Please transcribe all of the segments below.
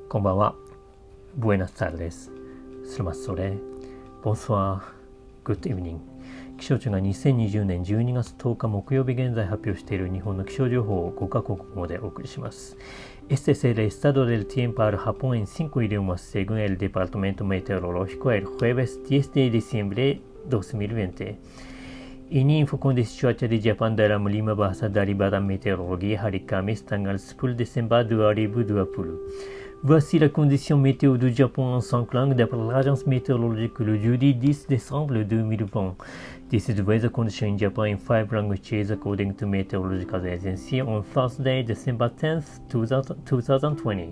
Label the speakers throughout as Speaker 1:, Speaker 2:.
Speaker 1: こんばんは。Buenas tardes. Selamat sore. Bonsoir. Good evening. 気象庁が2020年12月10日木曜日現在発表している日本の気象情報を5カ国語でお送りします。Este es el estado del tiempo al Japón en 5 idiomas según el Departamento Meteorológico el jueves 10 de diciembre 2020.Ini info kondisi cuaca di Jepang dalam 5 bahasa dari Badan Meteorologi hari Kamis tanggal 10 Desember 2020. Voici la condition météo du Japon en 5 langues d'après l'agence météorologique le jeudi 10 décembre 2020. This is the weather condition in Japan in 5 languages according to Meteorological Agency on Thursday, December 10th, 2020.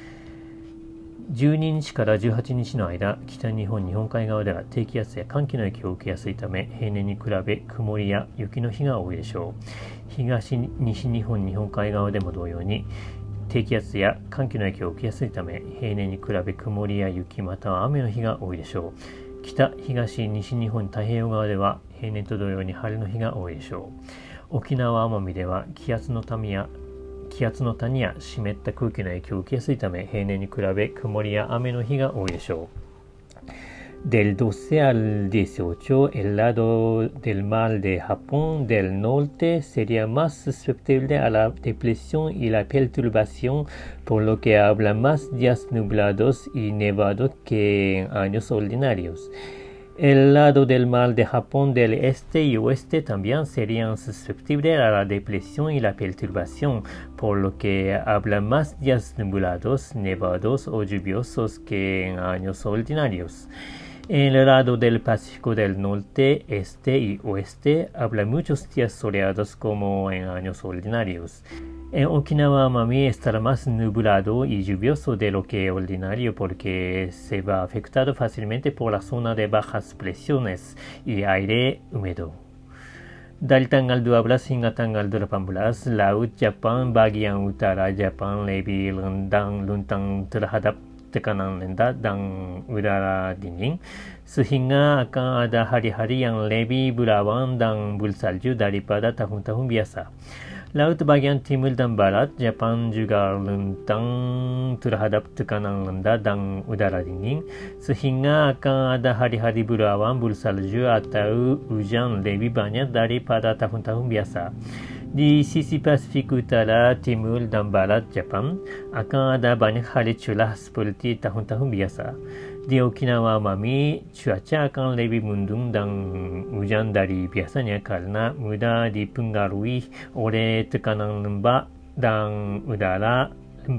Speaker 1: 12日から18日の間、北日本日本海側では低気圧や寒気の影響を受けやすいため、平年に比べ曇りや雪の日が多いでしょう。東西日本日本海側でも同様に、低気圧や寒気の影響を受けやすいため、平年に比べ曇りや雪または雨の日が多いでしょう。北、東、西日本太平洋側では平年と同様に晴れの日が多いでしょう。沖縄・奄美では気圧の谷や湿った空気の影響を受けやすいため、平年に比べ曇りや雨の日が多いでしょう。Del 12 al 18, el lado del mar de Japón del norte sería más susceptible a la depresión y la perturbación, por lo que habrá más días nublados y nevados que en años ordinarios.El lado del mar de Japón del este y oeste también serían susceptibles a la depresión y la perturbación, por lo que habrá más días nublados, nevados o lluviosos que en años ordinarios.En el lado del Pacífico del norte, este y oeste habrá muchos días soleados como en años ordinarios.En Okinawa Amami estará más nublado y lluvioso de lo que ordinario porque se va afectado fácilmente por la zona de bajas presiones y aire húmedo. Dari tanggal 12 hingga tanggal 18, Laut Jepang bagian utara Jepang lebih luntang terhadap tekanan rendah dan udara dingin, sehingga akan ada hari-hari yang lebih berawan dan bersalju daripada tahun-tahun biasa.Laut bagian timur dan barat, Jepang juga luntang terhadap tekanan rendah dan udara dingin, sehingga akan ada hari-hari berawan bersalju atau hujan lebih banyak daripada tahun-tahun biasa.Di sisi Pasifik Utara, Timur dan Barat Jepang akan ada banyak hari cerah seperti tahun-tahun biasa.Di Okinawa Amami, cuaca akan lebih mendung dan hujan dari biasanya karena mudah dipengaruhi oleh tekanan lembab dan udara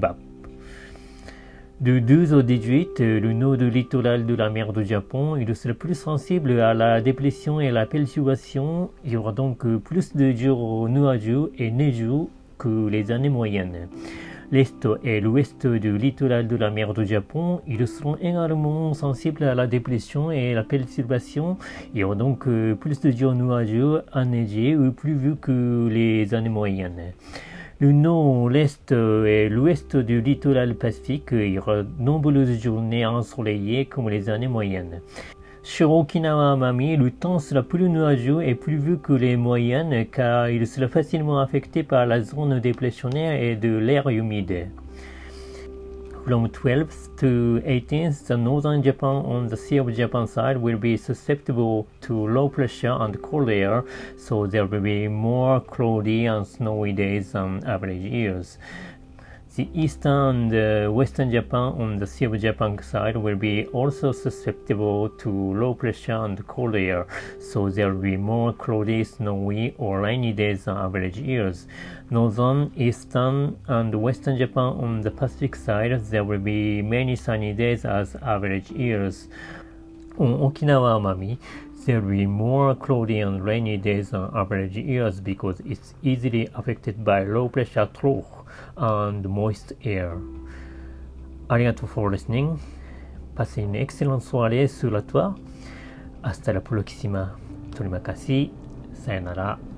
Speaker 1: lembab.Du 12 au 18, le nord du littoral de la mer du Japon il sera plus sensible à la dépression et la perturbation. Il y aura donc plus de jours nuageux et neigeux que les années moyennes. L'est et l'ouest du littoral de la mer du Japon, ils seront également sensibles à la dépression et la perturbation. Il y aura donc plus de jours nuageux, enneigés ou pluvieux que les années moyennes.Le nord, l'est et l'ouest du littoral pacifique, il y aura de nombreuses journées ensoleillées comme les années moyennes. Sur Okinawa Amami, le temps sera plus nuageux et pluvieux que les moyennes car il sera facilement affecté par la zone dépressionnaire et de l'air humide.From 12th to 18th, the northern Japan on the Sea of Japan side will be susceptible to low pressure and cold air, so there will be more cloudy and snowy days than average years. The eastern and western Japan on the Sea of Japan side will be also susceptible to low pressure and cold air, so there will be more cloudy, snowy, or rainy days than average years.Northern, Eastern, and Western Japan on the Pacific side, there will be many sunny days as average years. On Okinawa Amami, there will be more cloudy and rainy days than average years because it's easily affected by low pressure trough and moist air. ありがとう for listening. Passez une excellente soirée sur la toile. Hasta la próxima. Terima kasih. Sayonara.